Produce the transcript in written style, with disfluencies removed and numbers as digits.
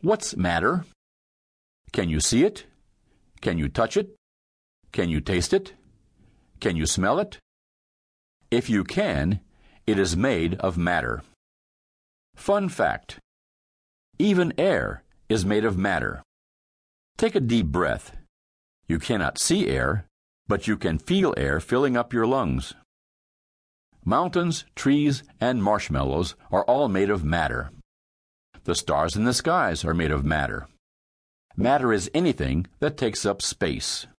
What's matter? Can you see it? Can you touch it? Can you taste it? Can you smell it? If you can, it is made of matter. Fun fact: even air is made of matter. Take a deep breath. You cannot see air, but you can feel air filling up your lungs. Mountains, trees, and marshmallows are all made of matter. The stars in the skies are made of matter. Matter is anything that takes up space.